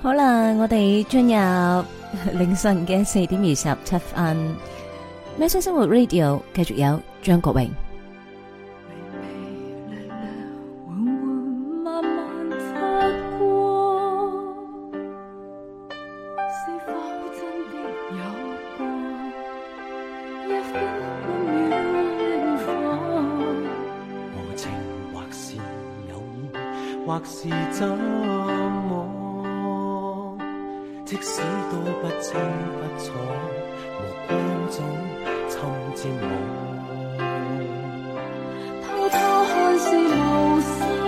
好啦，我哋進入凌晨嘅4:27。喵式生活 Radio 繼續有張國榮。 或是怎麼，即使多不清不楚，目光中侵佔我。偷偷看是無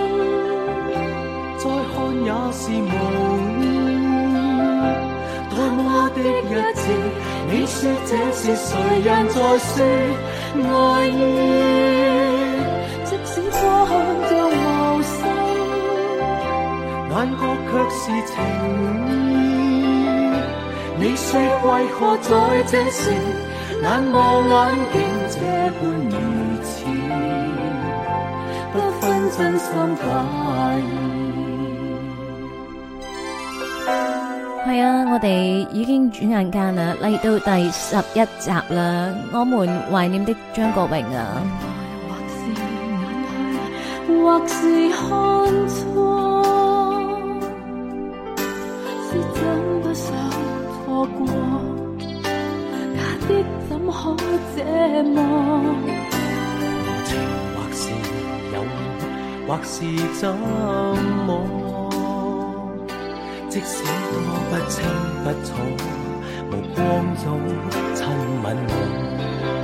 心，再看也是無意。多麼的一次，你說這是誰人在說愛意？即使多看像無心。眼角卻是情意，你說為何在這時眼望眼竟這般如此，不分真心假意。 係啊，我哋已經轉眼間啦，嚟到第11集啦，我們懷念的張國榮啊。 或是看錯，是真不想錯過，假的怎可這麼？無情或是有緣，或是怎麼？即使多不清不楚，無光中親吻我。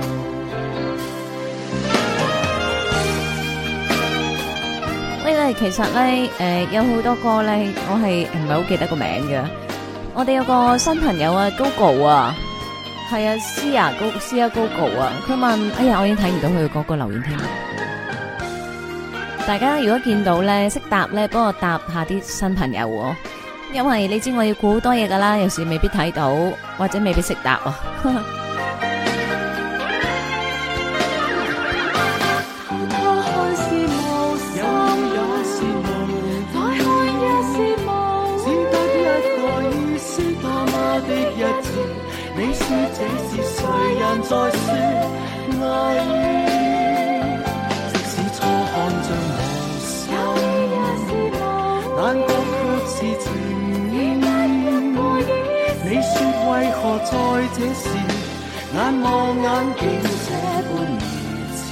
其實咧，有好多歌咧，我係唔係好記得個名嘅。我哋有個新朋友啊 ，Gogo 啊，係啊，Sia Gogo 啊，佢問：哎呀，我已經睇唔到佢嗰個留言添。大家如果見到咧，識答咧，幫我答下啲新朋友喎，因為你知我要估好多嘢噶啦，有時未必睇到，或者未必識答啊。 你說這是誰人在說愛意？即使初看像無心，眼角卻是情意。你說為何在這時眼望眼竟這般如此？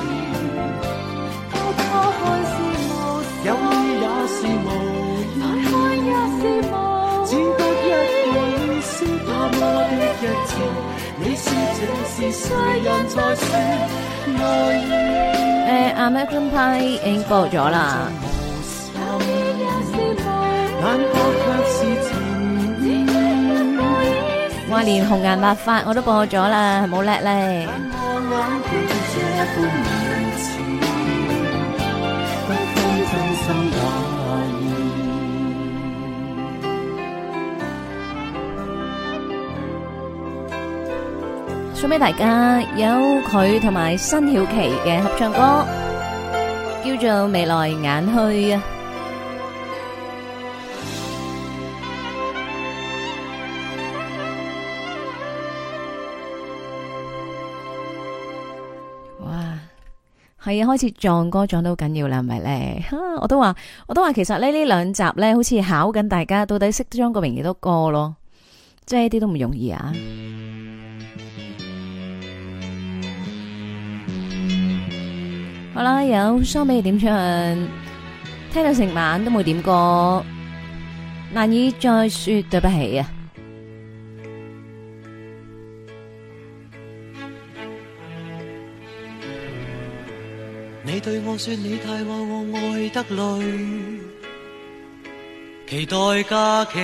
偷偷看是無心，有意也是無意，再看也是無，只得一個意思。多麼的一次，你說這是誰人在說愛意 ？American Pie 已經播咗啦。話連紅顏白髮我都播咗啦，係冇叻咧。送俾大家有佢同埋辛曉琪嘅合唱歌，叫做《眉來眼去》啊！哇，係啊，開始撞歌撞到好緊要啦，係咪咧？我都話，其實呢兩集咧，好似考緊大家到底識張國榮幾多歌咯，即係一啲都唔容易啊！好啦，有雙俾你點唱，聽到成晚都冇點過，難以再說對不起啊！ 你對我說你太愛我，愛得累，期待假期，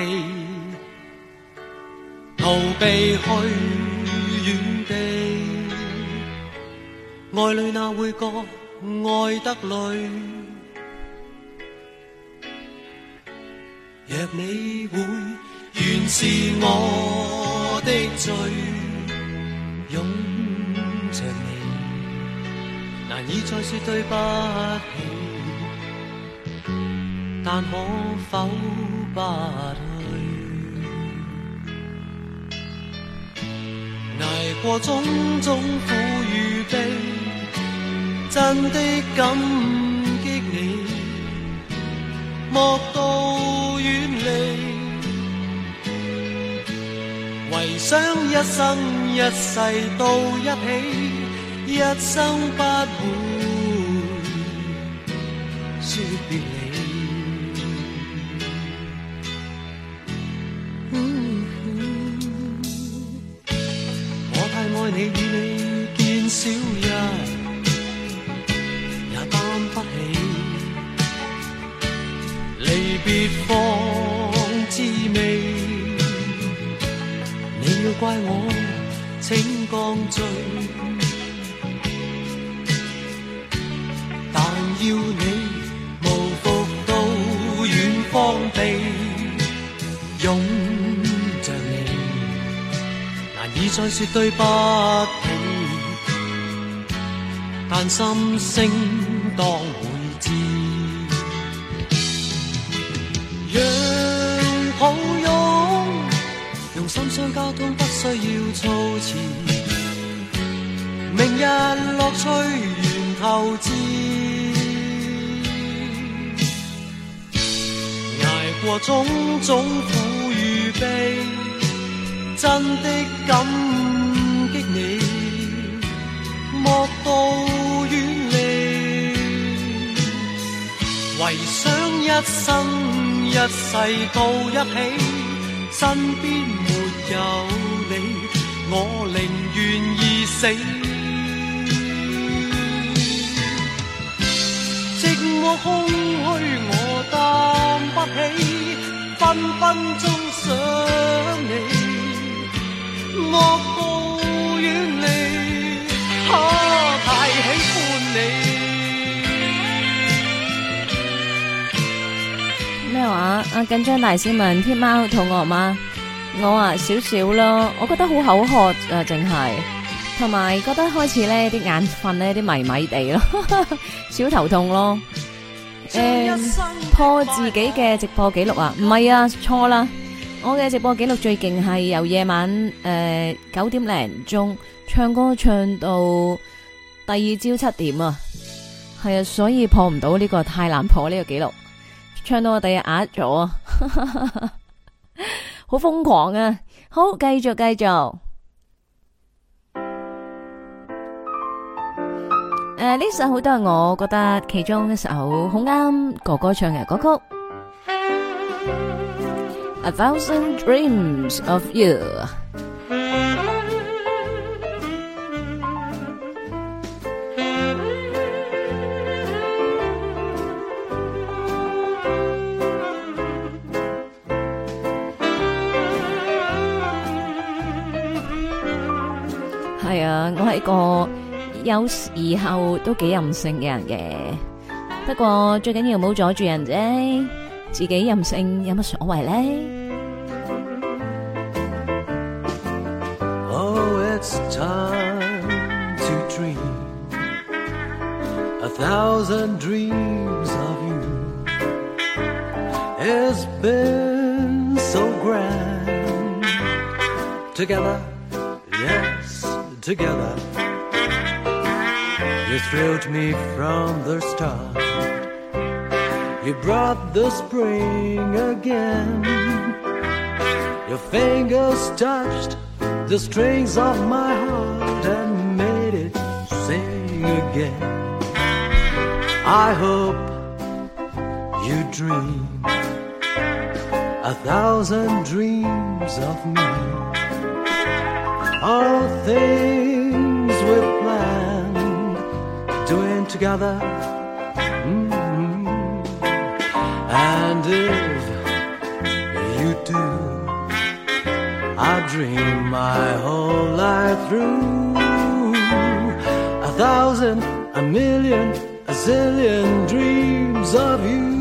逃避去遠地，愛侶哪會覺愛得累？若你會原是我的罪，擁着你，難以再說對不起，但可否不去？ 捱過種種苦與悲，真的感激你，莫道遠離，唯想一生一世到一起，一生不會說別離。我太愛你，與你見少日也擔不起，離別方滋味。你要怪我請降罪，但要你無復到遠方避，擁着你難以再說對不起，但心聲當會知，讓抱擁用心相交通，不需要措辭，明日樂趣源頭自，捱過種種苦與悲，真的感激你，莫道遠離，唯想一生一世到一起，身邊沒有你，我寧願意死。寂寞空虛我擔不起，分分鐘想你，莫道遠離，太喜歡你。 咩話？阿緊張大師問天貓肚餓嗎？我啊少少咯，我覺得好口渴啊，淨係同埋覺得開始咧啲眼瞓咧啲迷迷地咯，小頭痛咯。破自己嘅直播記錄啊？唔係啊，錯啦！我嘅直播記錄最勁係由夜晚9點零鐘唱歌唱到第二朝7點啊，係啊，所以破唔到呢個，太難破呢個記錄，唱到我第日啞咗啊！好瘋狂啊！好，繼續。呢首好多係我覺得其中一首好啱哥哥唱嘅歌曲。A Thousand Dreams of You。係啊，我係一個有時候都幾任性嘅人嘅，不過最緊要唔好阻住人啫，自己任性有乜所謂咧 ？Oh, it's time to dream a thousand dreams of you. It's been so grand together, yes, together. You thrilled me from the start. You brought the spring again. Your fingers touched the strings of my heart and made it sing again. I hope you dream a thousand dreams of me. All things we've planned doing together. And if you do, I dream my whole life through. A thousand, a million, a zillion dreams of you.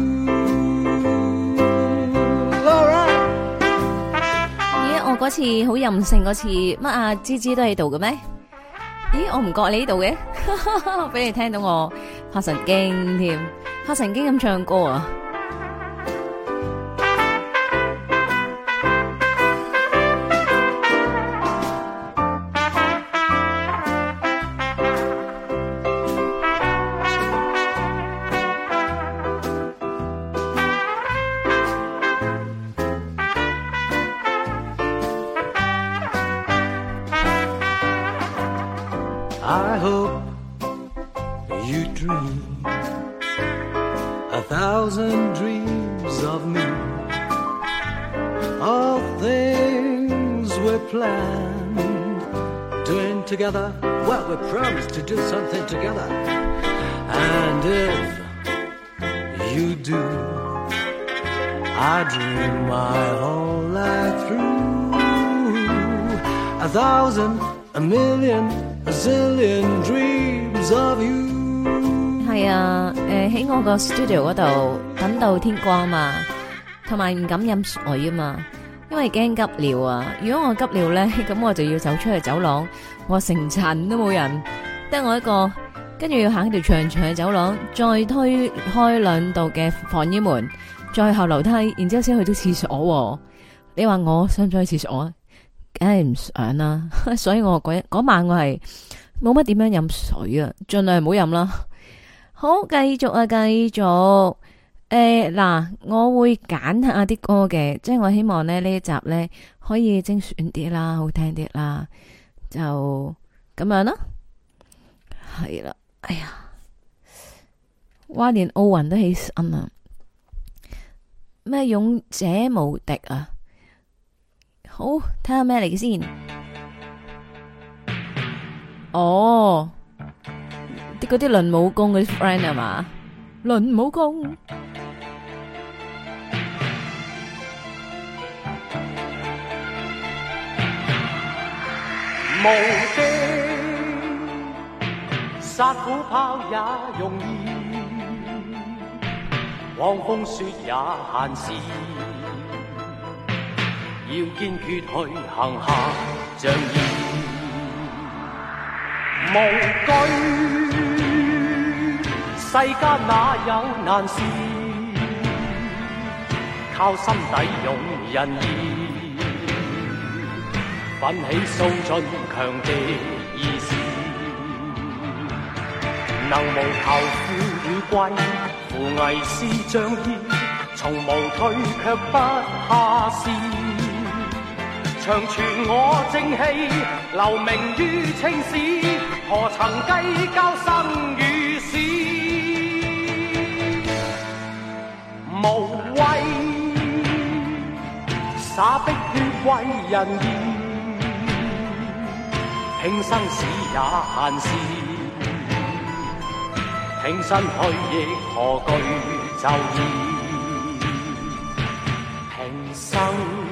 Alright. 咦，我嗰次好任性嗰次，乜啊芝芝都喺度嘅咩？咦，我唔覺你呢度嘅，俾你聽到我發神經添，發神經咁唱歌啊！ I hope you dream 1,000 dreams of me, of things we're planned, doing together what we promised to do something together. And if you do, I dream my whole life through 1,000, a million, a zillion dreams of you。 係啊，喺我個 studio 嗰度等到天光嘛，同埋唔敢飲水啊嘛，因為驚急尿啊。如果我急尿咧，咁我就要走出去走廊，我成層都冇人，得我一個，跟住要行條長長嘅走廊，再推開2道嘅防煙門，再後樓梯，然之後先去到廁所。你話我想唔想去廁所啊？梗係唔想啦，所以我嗰晚我係冇乜點樣飲水啊，盡量唔好飲啦。好，繼續啊，繼續。嗱，我會揀下啲歌嘅，即係我希望咧呢一集咧可以精選啲啦，好聽啲啦，就咁樣啦。係啦，哎呀，哇，連奧運都起身啊！咩勇者無敵啊！好，睇下咩嚟嘅先。哦。嗰啲輪武功嗰啲 friend 係嘛？輪武功， 無敵殺虎豹也容易，狂風雪也閒時，要堅決去行下仗義，無懼。世間哪有難事，靠心底勇仁義，奮起掃盡強敵意志，能無求富與貴，扶危是仗義，從無退卻不怕事，長存我正氣，留名於青史，何曾計較生與死。無畏灑碧血為人義，拼生死也閒事，挺身去亦何懼就義，平生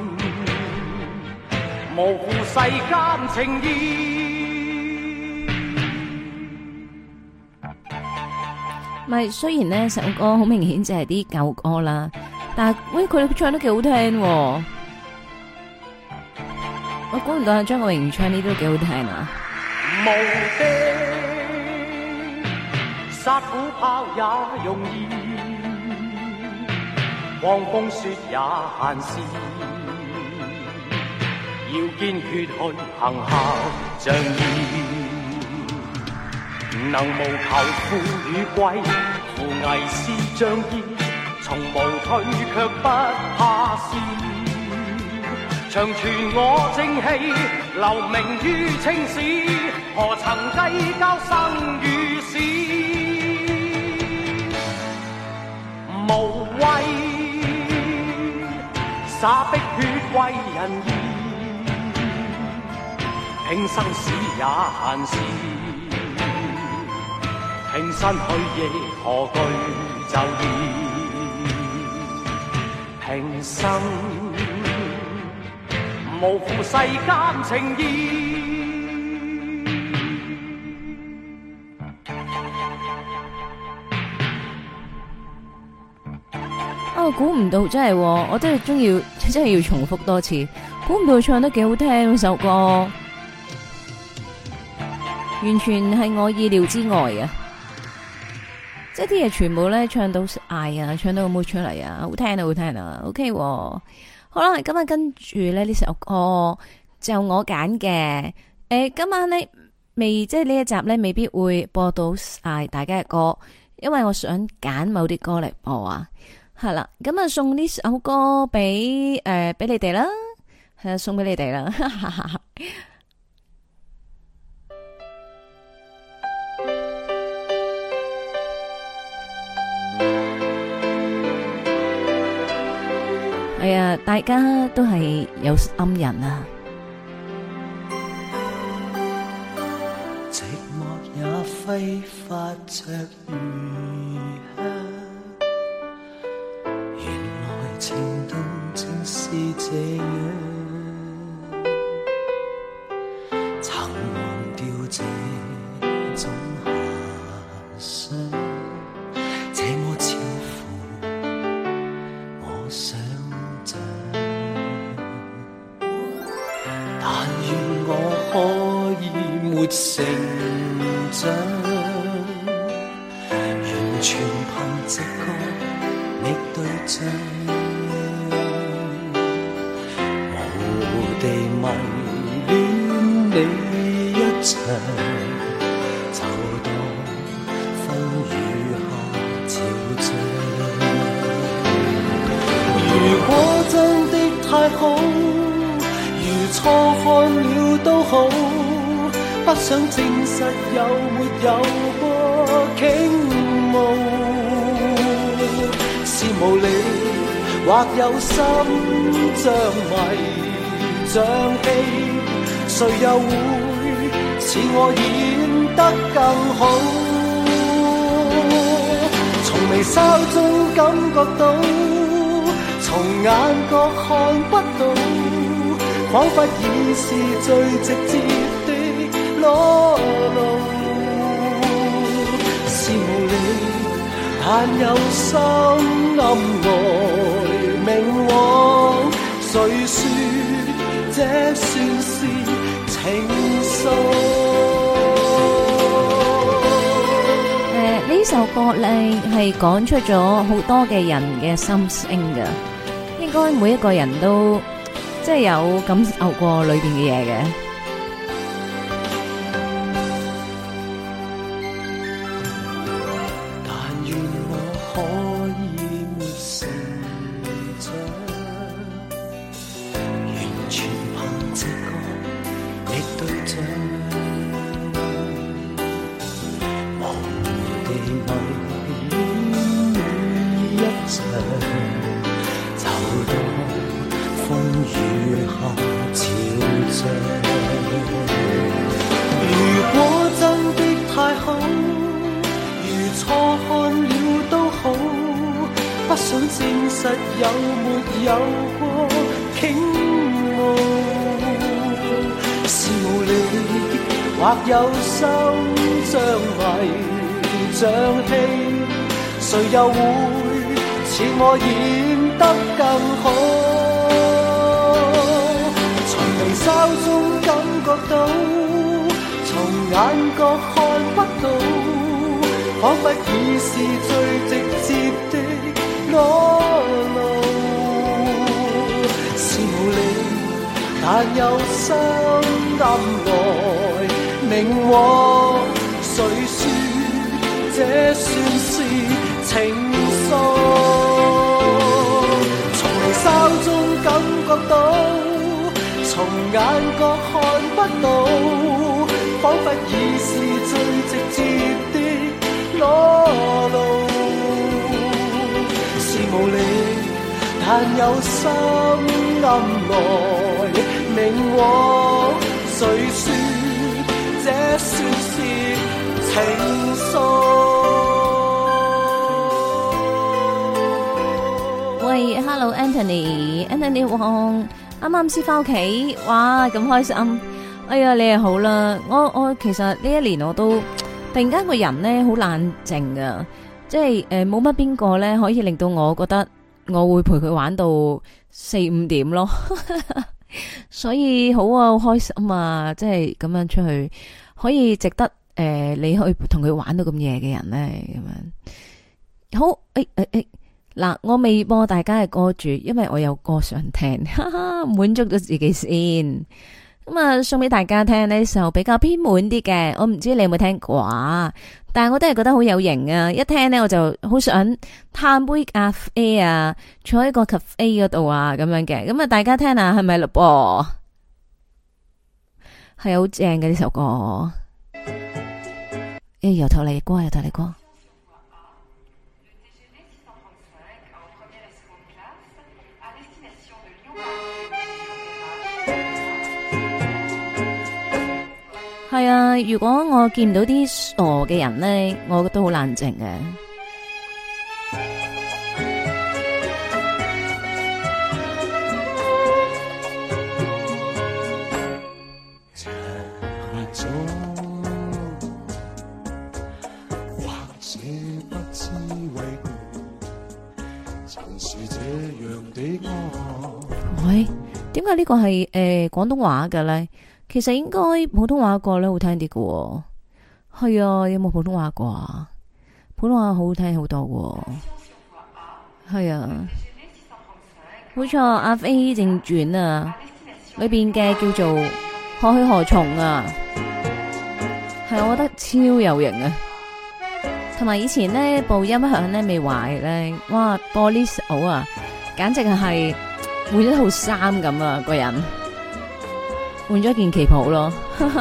無負世間情義。 咪雖然呢首歌好明顯就係啲舊歌啦，但係喂佢唱得幾好聽喎。我估唔到張國榮唱呢都幾好聽啊！ 無敵殺虎豹也容易，狂風雪也閒時，要堅決去行孝仗義。能無求富與貴，扶危是仗義，從無退卻不怕事，長存我正氣，留名於青史，何曾計較生與死，無畏灑碧血為人義，拼生死也閒事，挺身去亦何懼就義，平生無負世間情義。 哦，估唔到真係，我真係要重複多次，估唔到佢唱得幾好聽首歌，完全係我意料之外啊！即係啲嘢全部咧唱到嗌啊，唱到冇出嚟啊，好聽啊，好聽啊 ，OK，好啦，今日跟住咧呢首歌就我揀嘅，今晚咧即係呢一集咧未必會播到晒大家嘅歌，因為我想揀某啲歌嚟播啊，係啦，咁啊送呢首歌俾你哋啦，係啊，送俾你哋啦。 係啊，大家都係有心人啊。 寂寞也揮發着餘香，原來情動正是這樣，曾忘掉這種遐想，這麼超乎我想象，但願我可以沒成長，完全憑直覺覓對象，無地迷戀你一場，就當風雨下潮漲。如果真的太好，如錯看了都好，不想證實有沒有過傾慕，是無理或有心像迷像戲，誰又會似我演得更好？從微笑中感覺到，從眼角看不到，彷彿已是最直接的裸露，是無理，但有心暗來明往，誰說這算是情愫？ 呢首歌咧係講出咗好多嘅人嘅心聲㗎，應該每一個人都即係有感受過裏邊嘅嘢嘅。 有心像迷像戲，誰又會似我演得更好？從微笑中感覺到，從眼角看不到，彷彿已是最直接的裸露，是無理，但有心暗來明往，誰說這算是情愫？從微笑中感覺到，從眼角看不到，彷彿已是最直接的裸露，是無理，但有心暗來明往，誰說這算是情愫？ 喂 ，Hello Anthony 王，啱啱先翻屋企，哇咁開心！哎呀，你又好啦，我其實呢一年我都突然間個人咧好冷靜噶，即係冇乜邊個咧可以令到我覺得我會陪佢玩到4-5點咯。所以好啊，好開心啊！即係咁樣出去，可以值得你去同佢玩到咁夜嘅人咧，咁樣好。嗱，我未播大家嘅歌住，因為我有歌想聽，哈哈，滿足咗自己先。咁啊，送俾大家聽呢首比較偏門啲嘅，我唔知你有冇聽過啊？但係我都係覺得好有型啊！一聽呢，我就好想嘆杯咖啡啊，坐喺個 cafe 嗰度啊，咁樣嘅。咁啊，大家聽下係咪嘞噃？係好正嘅呢首歌。由頭嚟過，由頭嚟過。 啊，如果我見唔到啲傻嘅人咧，我覺得好冷靜嘅。喂，點解呢個係廣東話嘅咧？其實應該普通話個咧好聽啲嘅喎。係啊，有冇普通話過啊？普通話好聽好多喎。係啊，冇錯，阿飛正傳啊，裏邊嘅叫做何去何從啊，係我覺得超有型啊！同埋以前呢部音響咧未壞咧，哇播呢首啊，簡直係換咗套衫咁啊！個人換咗件旗袍咯。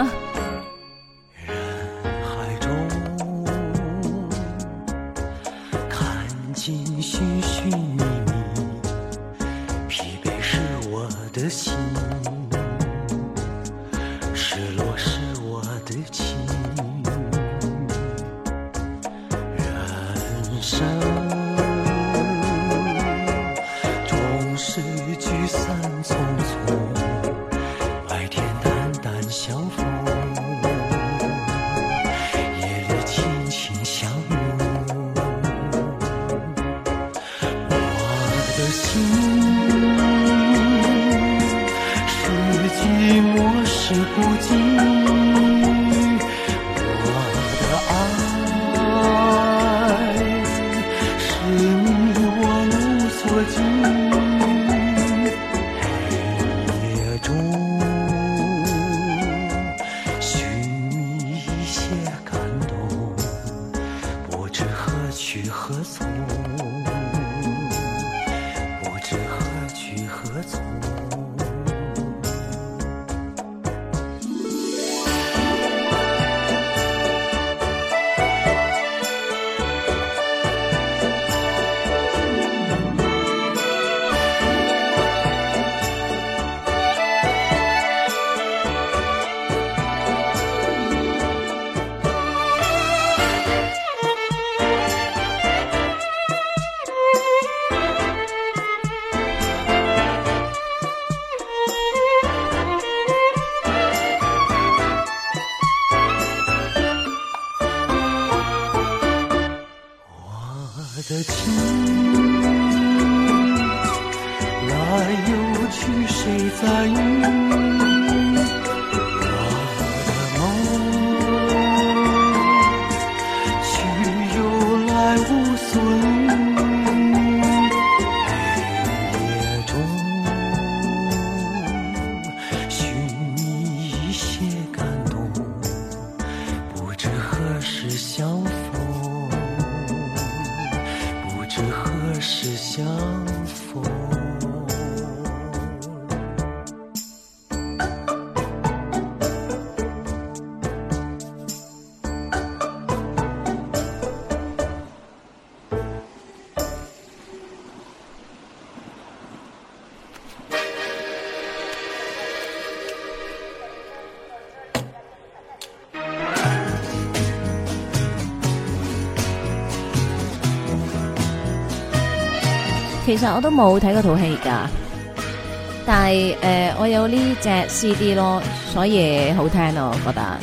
其實我都冇睇嗰套戲噶，但係我有呢隻 CD 咯，所以好聽咯，我覺得。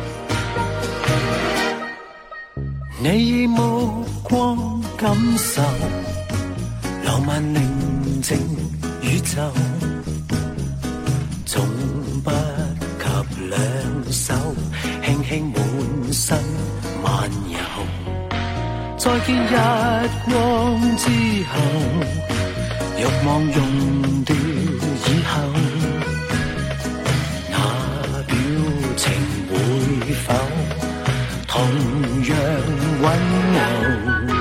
你以目光感受浪漫寧靜宇宙，總不及兩手輕輕滿身漫遊。再見日光之後，欲望用掉以後，那表情會否同樣溫柔？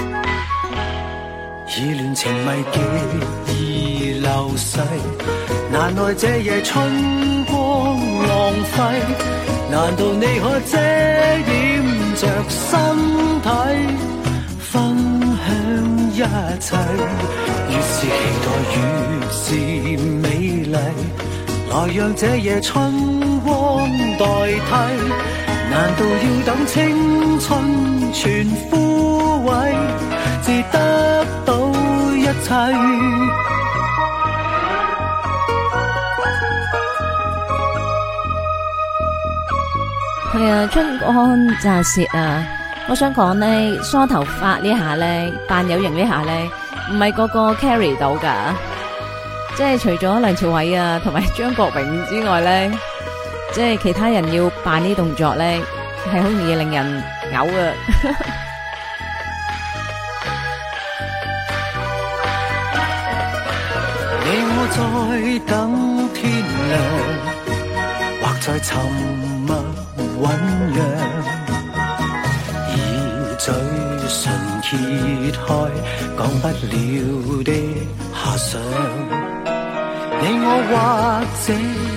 意亂情迷極易流逝，難耐這夜春光浪費。難道你可遮掩着身體，分享一切？越是期待越是美麗， 來讓這夜春光代替，難道要等青春全枯萎，至得到一切？ 係啊，春光乍泄啊！我想講呢，梳頭髮呢下呢，扮有型呢下呢，唔係個個 carry 到噶，即係除咗梁朝偉啊同埋張國榮之外呢，即係其他人要扮呢動作呢，係好容易令人嘔啊！ 你我在等天亮，或在沉默醞釀，以嘴唇揭開講不了的遐想。你我或者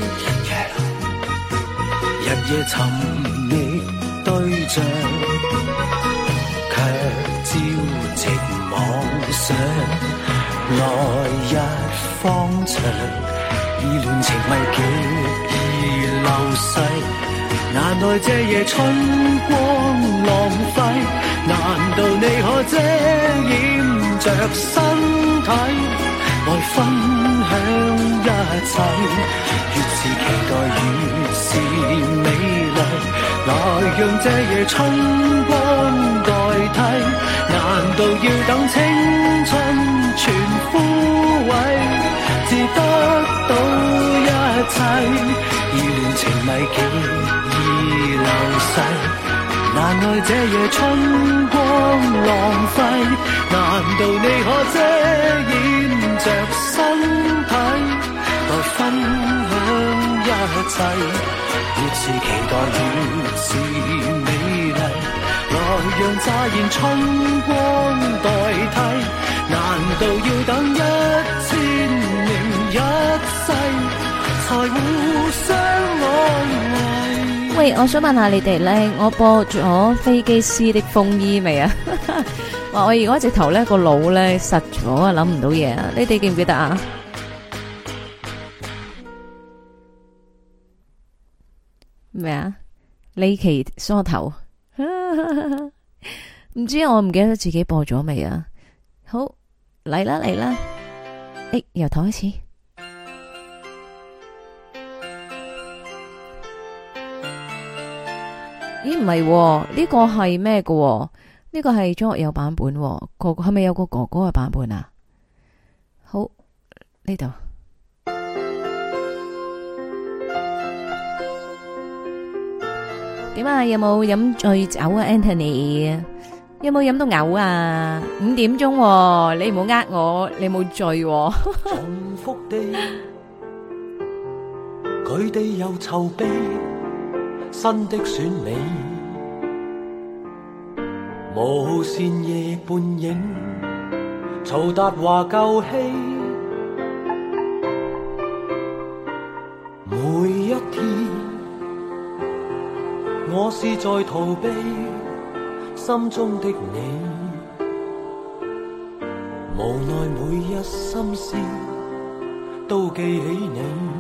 日夜尋覓對象，卻朝夕妄想來日方長，意亂情迷極易流逝。難耐這夜春光浪費，難道你可遮掩着身體，來分享一切？越是期待越是美麗，來讓這夜春光代替，難道要等青春全枯萎，至得到一切？意亂情迷極易流逝，難耐這夜春光浪費，難道你可遮掩着身體，來分享一切？越是期待越是美麗，來讓乍現春光代替，難道要等1000年一世，才互相安慰？ 喂，我想問下你哋咧，我播咗飛機師的風衣未啊？話我如果直頭咧個腦咧實咗啊，諗唔到嘢啊！你哋記唔記得啊？咩啊？李奇梳頭，唔知我唔記得自己播咗未啊？好，嚟啦嚟啦，由頭開始。咦，唔係喎，呢個係咩嘅？呢個係張學友版本喎，哥哥係咪有個哥哥嘅版本啊？好，呢度點啊？有冇飲醉酒啊 ，Anthony？有冇飲到嘔啊？5點鐘喎，你唔好呃我，你冇醉喎。 重複地，佢哋又籌備新的選美，無線夜半影，曹達華舊戲，每一天我是在逃避心中的你，無奈每一心思都記起你。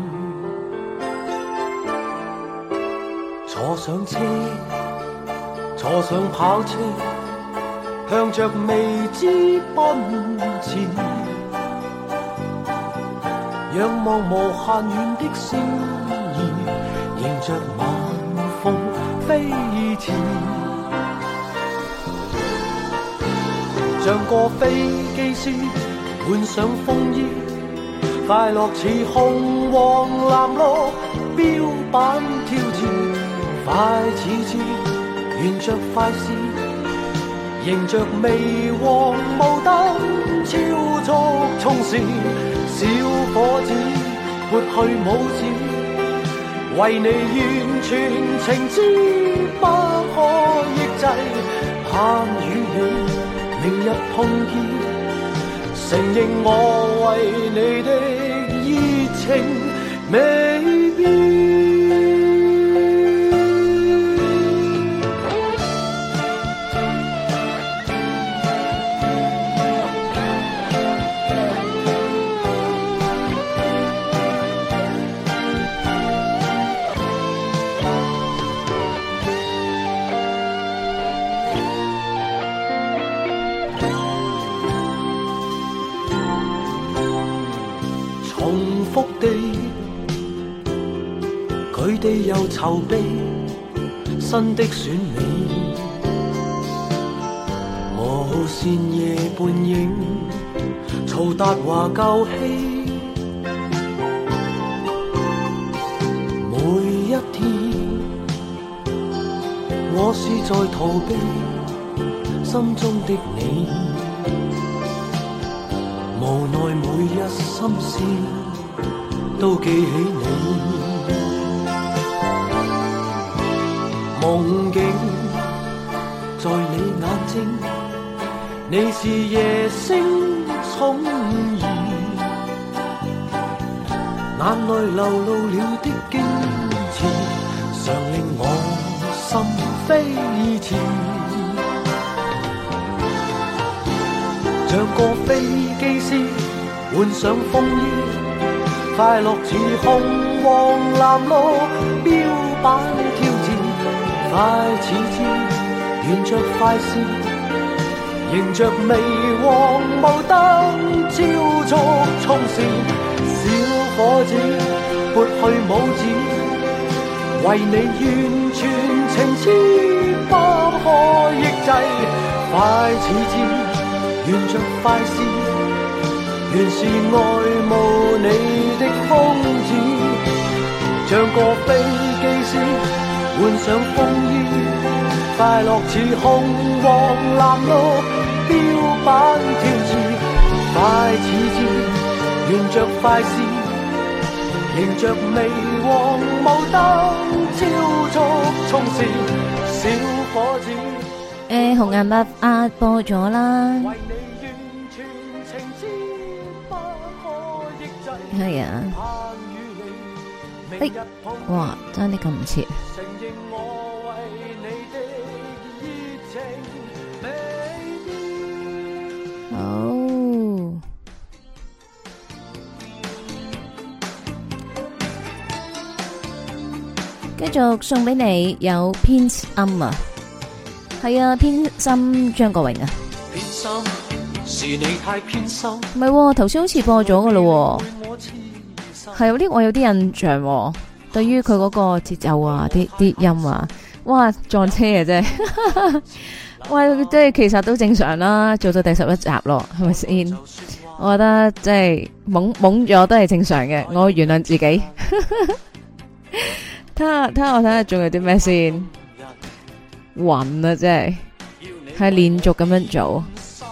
坐上車，坐上跑車，向着未知奔前，仰望無限遠的星兒，迎着晚風飛馳，像個飛機師換上風衣，快樂似紅黃藍綠標板挑戰。快似箭，沿着快線，迎着微黃霧燈，超速衝線，小伙子撥去拇指，為你完全情知，不可抑制，盼與你明日碰見，承認我為你的熱情未變。 地又籌備新的選美，無線夜半影，曹達華舊戲，每一天我是在逃避心中的你，無奈每一心事都記起你。夢境在你眼睛，你是夜星寵兒，眼淚流露了的矜持，常令我心飛馳。像個飛機師換上風衣，快樂似紅黃藍綠標板挑戰。快似箭，沿着快線，迎着微黃霧燈，超速衝線。小伙子撥去帽子，為你完全情痴不可抑制。快似箭，沿着快線，原是愛慕你的瘋子，像個飛機師換上風衣，快樂似紅黃藍綠標板挑戰。快似箭，沿着快線，迎着微黃霧燈，超速衝線。小伙子紅顏白壓播咗啦， 為你完全情知不可抑制。 係啊，哇，爭啲咁唔切。好，繼續送俾你有偏心啊，係啊，偏心張國榮啊， 偏心是你太偏心， 唔係，頭先好似播咗噶咯，係有啲我有啲印象喎，對於佢嗰個節奏啊，啲音啊，哇，撞車啊真係。喂，即係其實都正常啦，做到第11集咯，係咪先？我覺得即係懵咗都係正常嘅，我原諒自己。睇下我睇下仲有啲咩先？暈啊，真係連續咁樣做。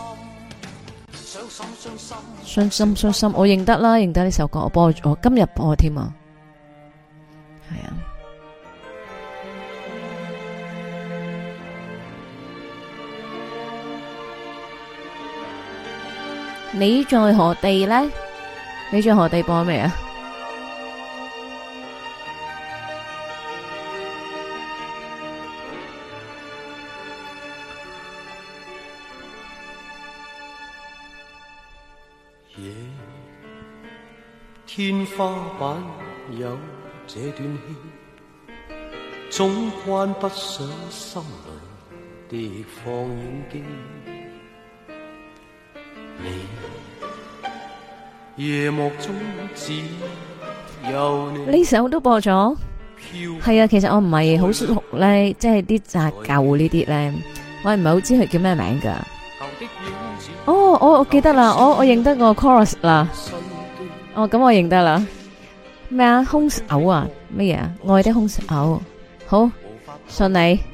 傷心，我認得啦，認得呢首歌，我今日播添啊，係啊。你在何地呢？你在何地播未啊？ 夜天花板有這段戲，總關不上心裏的放映機。夜幕中只有你， 呢首都播咗，係啊。其實我唔係好熟咧，即係啲雜舊呢啲咧，我唔係好知佢叫咩名噶。哦，我記得啦，我認得個 chorus 啦。哦，咁我認得啦。咩啊？兇手啊？乜嘢啊？愛的兇手。好，信你。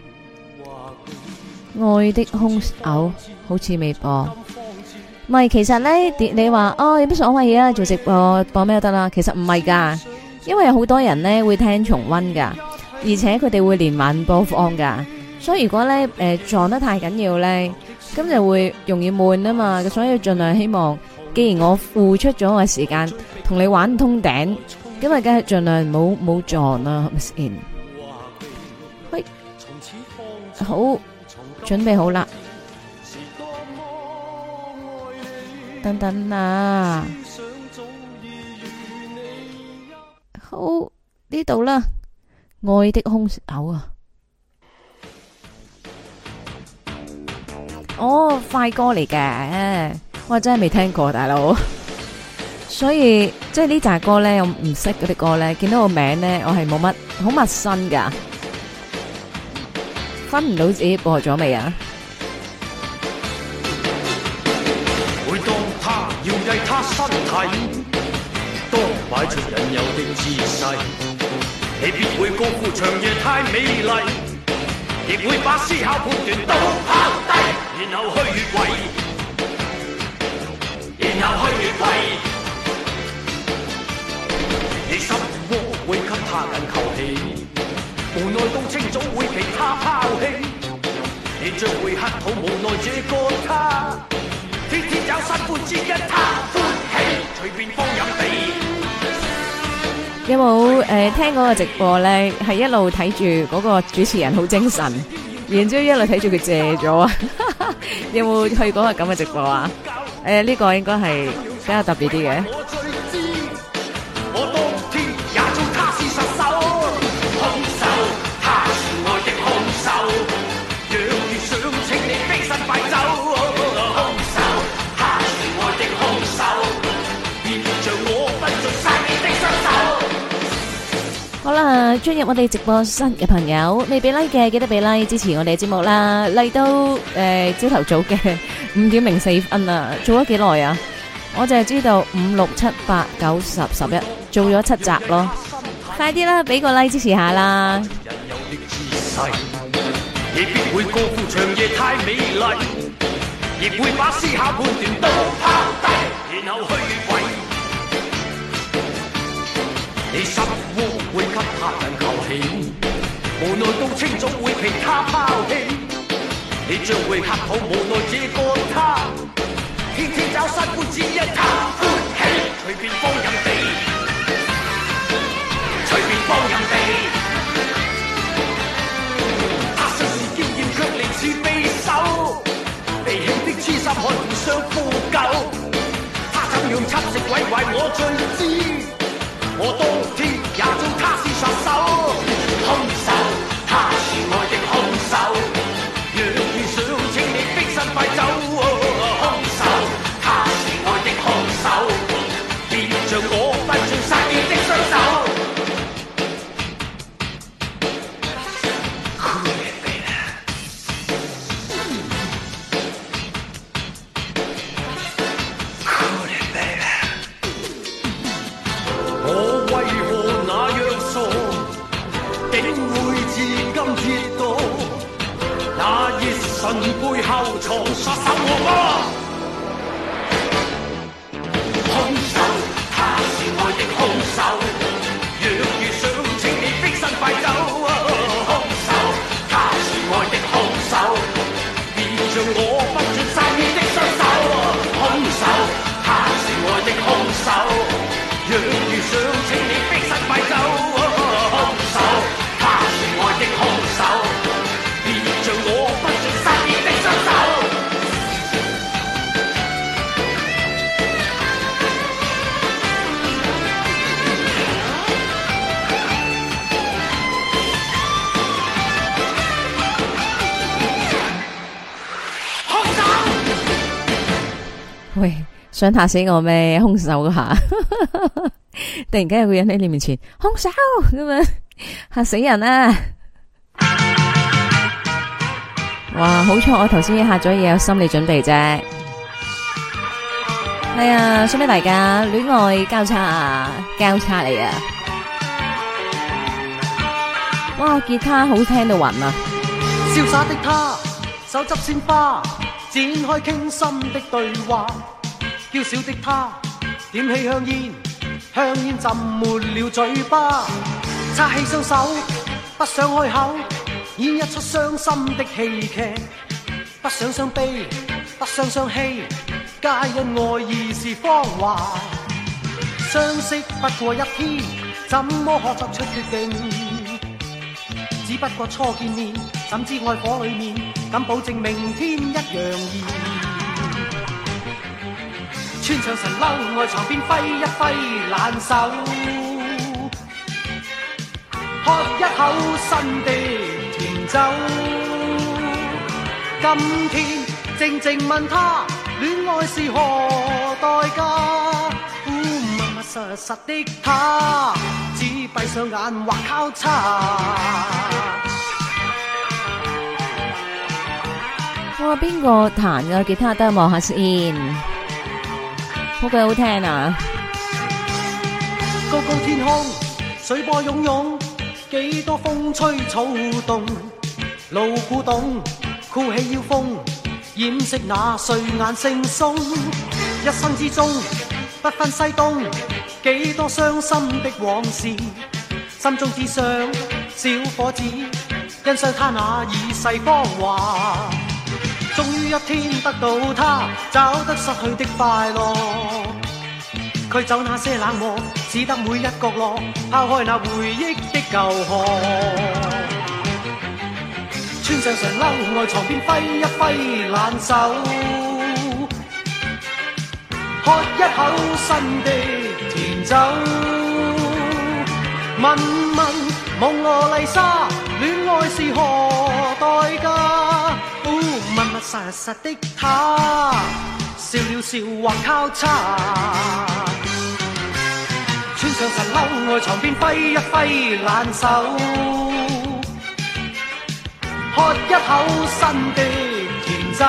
愛的兇手好似未播。唔係，其實咧，你話哦有乜所謂啊？做直播播咩都得啦。其實唔係噶，因為有好多人咧會聽重溫噶，而且佢哋會連晚播放噶。所以如果咧撞得太緊要咧，咁就會容易悶啊嘛。所以盡量希望，既然我付出咗我嘅時間同你玩通頂，咁啊，梗係盡量唔好撞啦，係咪先？喂，好，準備好啦。等等啊，好呢度啦，愛的兇手啊！哦，快歌嚟嘅，我真係未聽過，大佬，所以即係呢扎歌咧，我唔識嗰啲歌咧，見到個名咧，我係冇乜好陌生噶，分唔到自己播咗未啊？ 每當他搖曳他身體，當擺出引誘的姿勢，你必會高呼長夜太美麗，亦會把思考判斷都拋低，然後去越位，然後去越位。你心窩會給他緊扣起，無奈到清早會被他拋棄，你將會乞討無奈這個他，天天找新歡只因他歡喜，隨便放任地。 有冇聽嗰個直播咧？係一路睇住嗰個主持人好精神，然之後一路睇住佢謝咗啊！有冇去嗰個咁嘅直播啊？呢個應該係比較特別啲嘅。好啦，進入我哋直播室嘅朋友，未俾 like 嘅記得俾 like 支持我哋節目啦。嚟到朝頭早嘅5:04啦，做咗幾耐啊？我就係知道5、6、7、8、9、10、11做咗7集咯。快啲啦，俾個 like 支持下啦！亦必會高呼長夜太美麗，亦會把思考判斷都拋低，然後去越位。你心窩會給他緊扣起，無奈到清早會被他拋棄，你將會乞討無奈這個他，天天找新歡只因他歡喜，隨便放任地，隨便放任地。他雖是嬌豔卻離似匕首，被輕的痴心看互相呼救，他怎樣侵蝕毀壞我最知。我當天也做他是殺手，兇手，他是愛的兇手。若遇上請你逼身快走，兇手，他是愛的兇手。別像我不像殺你的雙手。背後藏殺手我兇手，他是愛的兇手。若遇上請你逼身快走，兇手，他是愛的兇手。別像我不准殺你的雙手，兇手，他是愛的兇手。若遇上請你逼身快走，兇手，他是愛的兇手。別像我不准殺你的雙手。喂，想嚇死我咩？兇手嗰下，突然間有個人喺你面前，兇手咁樣嚇死人啊！哇，好彩我頭先嚇咗嘢，有心理準備啫。係啊，送俾大家戀愛交叉嚟啊！哇，吉他好聽到暈啊！ 瀟灑的他，手執鮮花，展開傾心的對話。嬌小的他，點起香煙，香煙浸沒了嘴巴。擦起雙手，不想開口，演一出傷心的戲劇。不想傷悲，不想傷氣，皆因愛意是謊話。相識不過一天，怎麼可作出決定？只不過初見面，怎知愛火裡面，敢保證明天一樣熱。穿上神褸，外床邊揮一揮爛手，喝一口新的甜酒。今天靜靜問他，戀愛是何代價？默默實實的他，只閉上眼或交叉。 哇！邊個彈嘅吉他得望下先，好鬼好聽啊！ 高高天空，水波湧湧，幾多風吹草動，路古董，酷氣要風，掩飾那睡眼惺忪。一生之中，不分西東，幾多傷心的往事，心中只想小伙子，欣賞他那已逝芳華。終於一天得到他，找得失去的快樂。驅走那些冷漠，使得每一角落拋開那回憶的舊殼。穿上長褸外床邊揮一揮爛手，喝一口新的甜酒。問問蒙羅麗莎，戀愛是何代價？密密實實的他，笑了笑或交叉。穿上神褸外床邊揮一揮爛手，喝一口新的甜酒。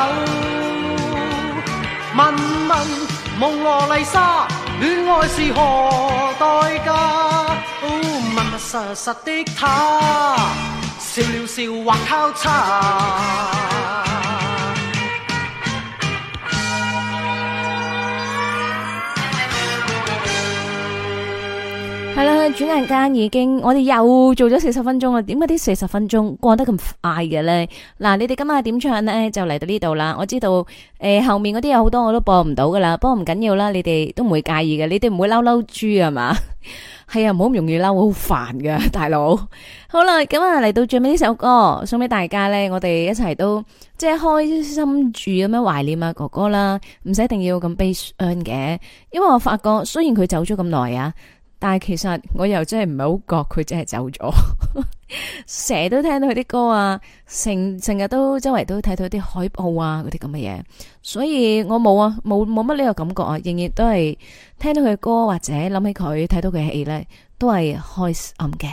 問問蒙羅麗莎，戀愛是何代價？密密實實的他，笑了笑或交叉。 係啦，轉眼間已經我哋又做咗40分鐘啦。點解啲40分鐘過得咁快嘅咧？嗱，你哋今日點唱咧就嚟到呢度啦。我知道後面嗰啲有好多我都播唔到噶啦，不過唔緊要啦，你哋都唔會介意嘅，你哋唔會嬲豬係嘛？係啊，唔好咁容易嬲，好煩噶大佬。好啦，咁啊嚟到最尾呢首歌送俾大家咧，我哋一齊都即係開心住咁樣懷念啊哥哥啦，唔使一定要咁悲傷嘅，因為我發覺雖然佢走咗咁耐啊。但係其實我又真係唔係好覺佢真係走咗，成日都聽到佢啲歌啊，成日都周圍都睇到啲海報啊嗰啲咁嘅嘢，所以我冇乜呢個感覺啊，仍然都係聽到佢嘅歌或者諗起佢睇到佢嘅戲咧，都係開心嘅。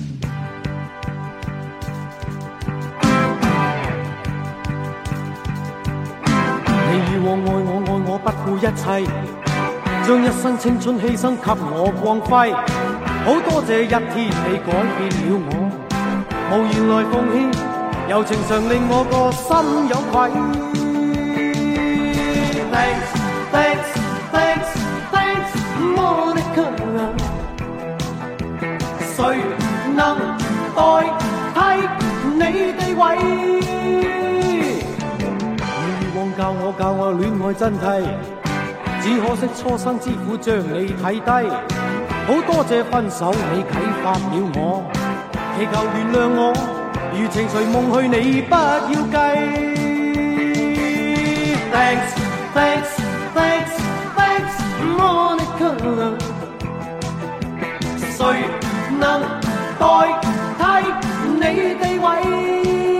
你以往愛我愛我不顧一切，將一生青春犧牲給我光輝，好多謝一天你改變了我，無言來奉獻，柔情常令我個心有愧。Thanks, thanks, thanks, thanks, Monica， 誰能代替你地位？你以往教我戀愛真諦，只可惜初生之苦將你睇低，好多謝分手你啟發了我，祈求原諒我，如情隨夢去你不要計。Thanks, thanks, thanks, thanks, Monica， 誰能代替你地位？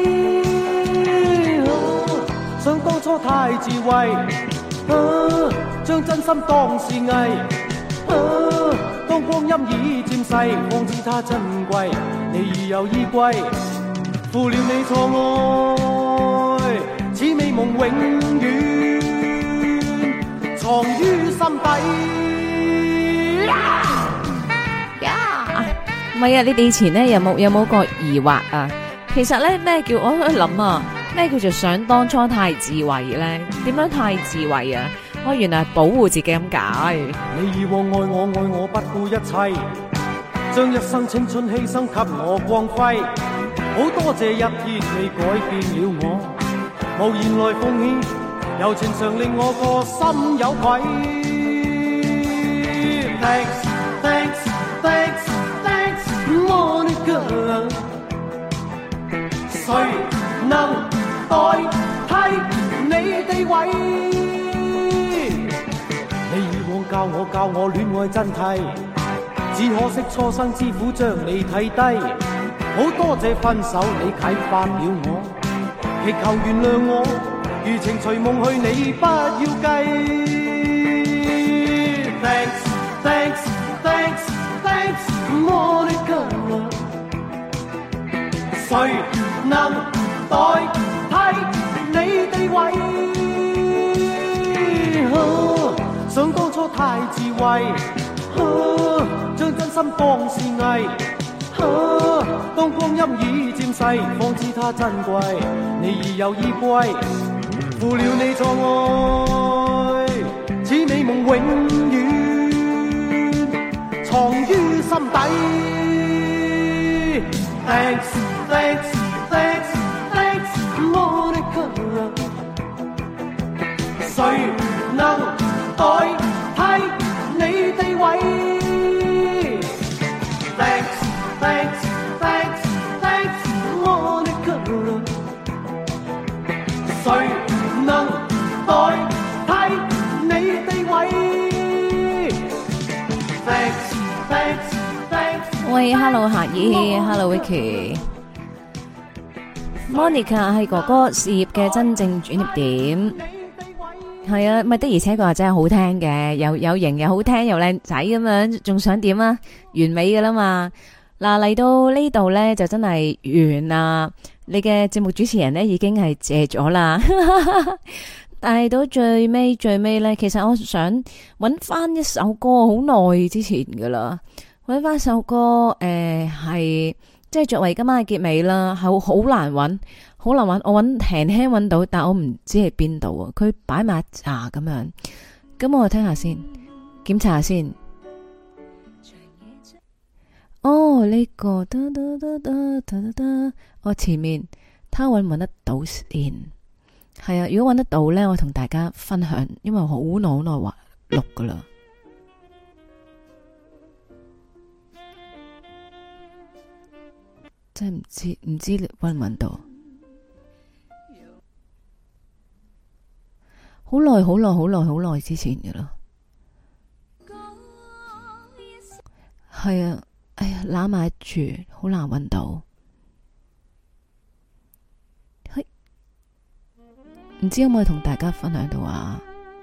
想當初太自衛。將真心當是藝，當光陰已漸逝，方知它珍貴。你已有依歸，負了你錯愛，此美夢永遠藏於心底。 唔係啊，你哋以前咧有冇個疑惑啊？其實咧咩叫我喺度諗啊？咩叫做想當初太自衛咧？點樣太自衛啊？我原來係保護自己咁解。 你以往愛我不顧一切，將一生青春犧牲給我光輝，好多謝一天你改變了我，無言來奉獻，柔情常令我個心有愧。Thanks, thanks, thanks, thanks, Monica， 誰能代替你地位？你以往教我戀愛真諦，只可惜初生之苦將你睇低，好多謝分手你啟發了我，祈求原諒我，如情隨夢去你不要計。Thanks, thanks, thanks thanks Monica， 誰能代替你地位？想當初太智慧，將真心當是藝。當光陰已漸逝，方知它珍貴。你已有依歸，負了你錯愛，似美夢永遠藏於心底。Thanks thanks thanks thanks Monica， 誰能代替你地位？Thanks thanks thanks thanks Monica， 誰能代替你地位 ？Thanks thanks thanks。 喂 ，Hello 夏姨 ，Hello Vicky。Monica 係哥哥事業嘅真正轉捩點。係啊，咪的而且確真係好聽嘅，有型又好聽又靚仔咁樣，仲想點啊？完美噶啦嘛！嗱，嚟到呢度呢，就真係完啦。你嘅節目主持人呢，已經係謝咗啦，但係到最尾呢，其實我想揾翻一首歌，好耐之前噶啦，揾翻首歌係即係作為今晚嘅結尾啦，好難揾。好難揾，我輕輕揾到，但我唔知係邊度啊！佢擺埋一紮咁樣，咁我聽下先，檢查下先。哦，呢個我前面，睇下揾唔揾得到先。係啊，如果揾得到呢，我同大家分享，因為好耐話錄噶啦。真係唔知揾唔揾到。好耐之前嘅啦，係啊，哎呀，攬埋住，好難揾到，唔知可唔可以同大家分享到啊？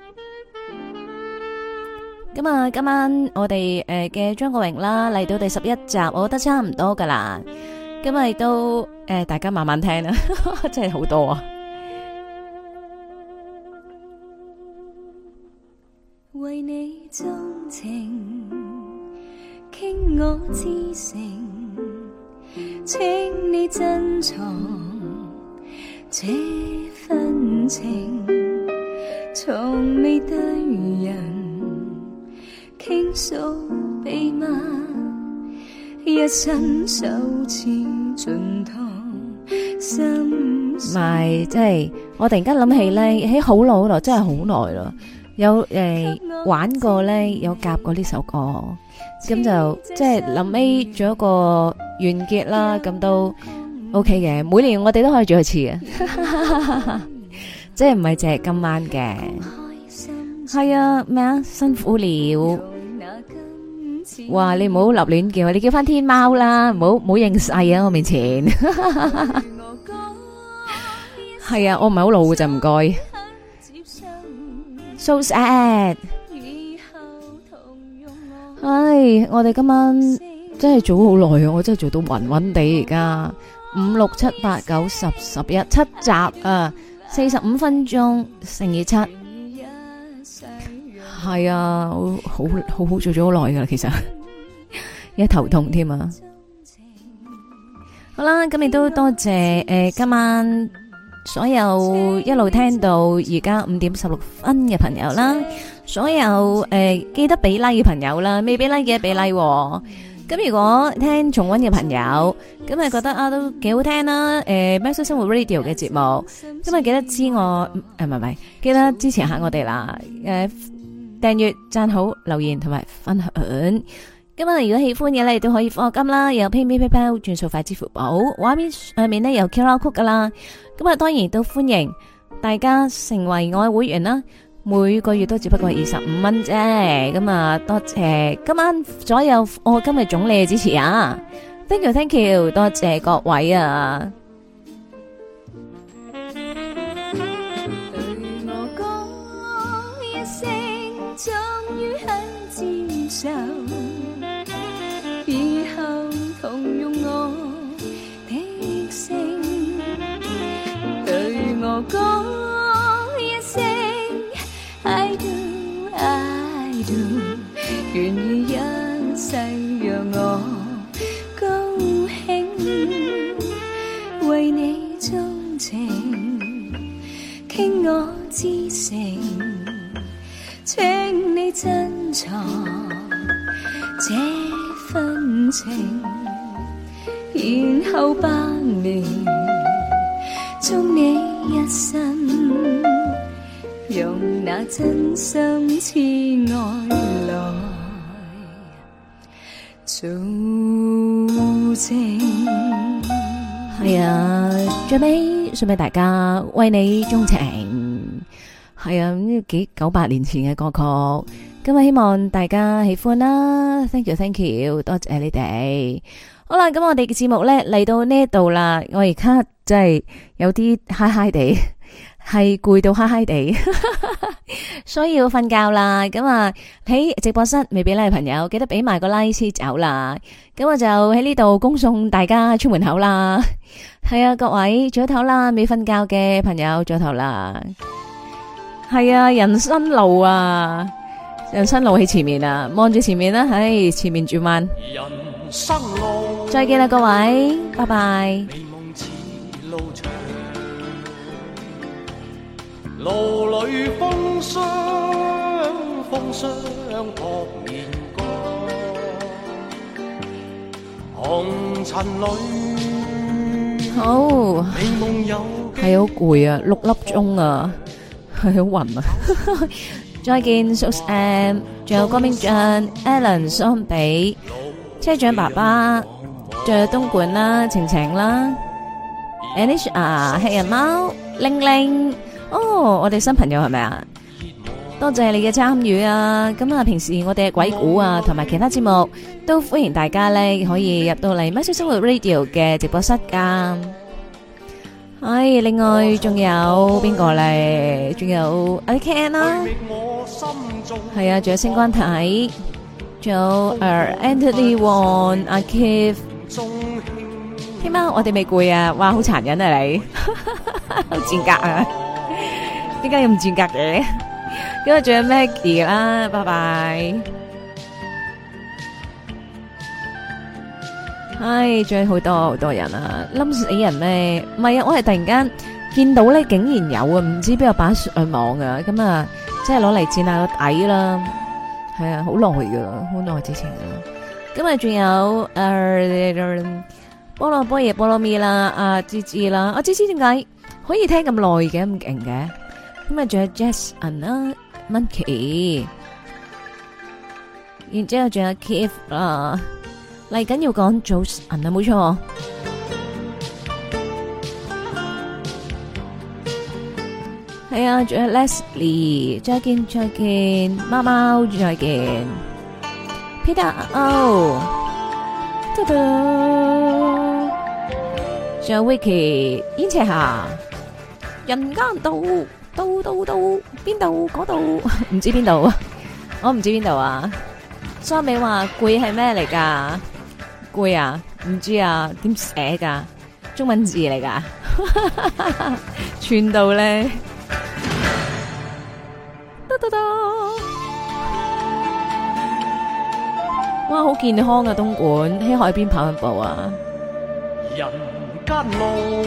咁啊，今晚我哋嘅張國榮啦嚟到第11集，我覺得差唔多噶啦，今日都大家慢慢聽啦，真係好多啊！ 為你鍾情，傾我至誠，請你珍藏這份情，從未對人傾訴秘密，一生首次盡堂心咪即係我突然間諗起咧，喺好耐，真係好耐啦。有玩過咧，有夾過呢首歌，咁就即係臨尾做一個完結啦，咁都 OK 嘅。每年我哋都可以做一次嘅，即係唔係淨係今晚嘅。係啊，咩啊？辛苦了。哇！你唔好立亂叫，你叫翻天貓啦，唔好認細啊！我面前係啊，我唔係好老嘅就唔該。So sad， 唉，我哋今晚真係做好耐啊！我真係做到暈暈地而家，5、6、7、8、9、10、11 7集啊，45分鐘乘以7，係啊，好做咗好耐噶啦，其實一頭痛添啊！好啦，咁亦都多謝今晚所有一路聽到而家5點16分嘅朋友啦，所有記得俾 like 嘅朋友啦，未俾 like 嘅俾 like。咁如果聽重溫嘅朋友，咁咪覺得啊都幾好聽啦。喵式生活 Radio 嘅節目，咁咪記得知我唔係，記得支持下我哋啦。訂閱、讚好、留言同埋分享。咁啊，如果喜歡嘅咧，都可以課金啦，有 PayPal 轉數快支付寶，畫面上面咧有 QR Code 噶啦。咁啊，當然都歡迎大家成為我嘅會員啦，每個月都只不過25蚊啫。咁啊，多謝今晚所有我今日總理嘅支持啊 ！Thank you， 多謝各位啊！ 對我講一聲，終於肯接受。 傾我至誠，請你珍藏這份情，然後百年終你一生，用那真心痴愛來做證。 係啊，最尾送俾大家，為你鍾情。係啊，呢幾900年前嘅歌曲，今日希望大家喜歡啦。Thank you，多謝你哋。好啦，咁我哋嘅節目咧嚟到呢度啦，我而家真係有啲嗨嗨地，係攰到嗨嗨地，所以要瞓覺啦。咁啊喺直播室未俾 like 嘅朋友，記得俾埋個 like 先走啦。咁我就喺呢度恭送大家出門口啦。係啊，各位早唞啦，未瞓覺嘅朋友早唞啦。係啊，人生路啊，人生路喺前面啊，望住前面啦，唉，前面轉彎。 人生路， 再見啦，各位，拜拜。 美夢似路長，路裏風霜撲面光，紅塵裏好， 美夢有係好攰啊，6粒鐘啊，係好暈啊。再見 ，Susan， 仲有江明俊、Alan、桑比、車長爸爸，仲有東莞啦、晴晴啦、Anisha、黑人貓、玲玲。哦，我哋新朋友係咪啊？多謝你嘅參與啊！咁啊，平時我哋嘅鬼故啊，同埋其他節目都歡迎大家咧可以入到嚟《喵式生活 Radio》嘅直播室噶。係，另外仲有邊個咧？仲有阿 Ken 啦，係啊，仲有星光體，仲有Anthony Wong、阿 Keith。天喵，我哋未攰啊！哇，好殘忍啊你，好賤格啊！點解咁賤格嘅？咁啊，仲有 Maggie 啦，拜拜。唉，仲有好多人啊，冧死人咩？唔係啊，我係突然間見到咧，竟然有啊，唔知邊個擺上網啊，咁啊，即係攞嚟墊下個底啦。係啊，好耐噶，好耐之前噶。咁啊，仲有菠蘿蜜啦，阿芝芝啦，阿芝芝點解可以聽咁耐嘅，咁勁嘅？咁啊，仲有 Jason 啦 ，Monkey， 然之後仲有 Keith 啦。嚟緊要講早晨啊，冇錯。係啊，仲有 Leslie， 再見，貓貓再見 ，Peter O， 嘟嘟，仲有 Vicky， 燕赤霞，人間道，邊度嗰度，唔知邊度啊，我唔知邊度啊。蘇美話攰係咩嚟噶？攰啊？唔知啊？點寫噶？中文字嚟噶？串到咧，哇，好健康啊！東莞喺海邊跑緊步啊！ 人間路，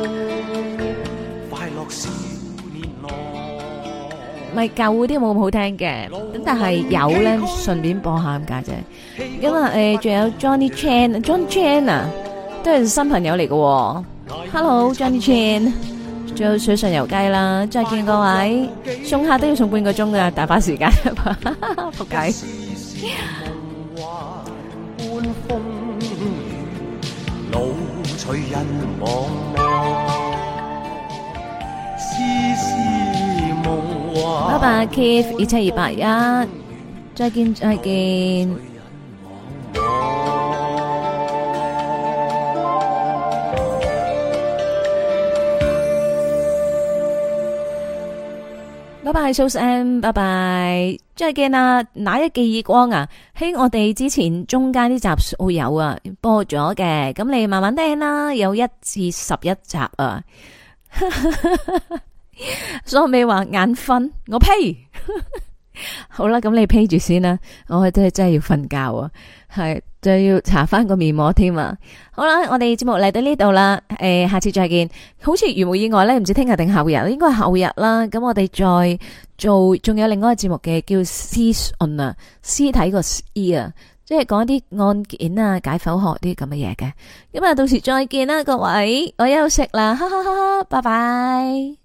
快樂少年郎。 咪舊嗰啲冇咁好聽嘅，咁但係有咧，順便播下咁解啫。咁啊，仲有 Johnny Chan，John Chan 啊，都係新朋友嚟嘅。Hello Johnny Chan， 仲有水上游雞啦，再見各位，送客都要送半個鐘噶，大把時間，仆街。拜拜 Keith 17281，再見。拜拜 Susan， 拜拜，再見啊！那一記耳光啊，喺我哋之前中間啲集數有啊播咗嘅，咁你慢慢聽啦，有1至11集啊。所以咪話眼瞓，我呸！ 好啦，咁你披住先啦，我真係要瞓覺啊，係就要搽翻個面膜添啊。好啦，我哋節目嚟到呢度啦，下次再見。好似如無意外咧，唔知聽日定後日，應該係後日啦。咁我哋再做，仲有另外一個節目嘅叫屍訊啊，屍體個屍啊，即係講一啲案件啊、解剖學啲咁嘅嘢嘅。咁啊，到時再見啦，各位，我休息啦，哈哈哈哈，拜拜。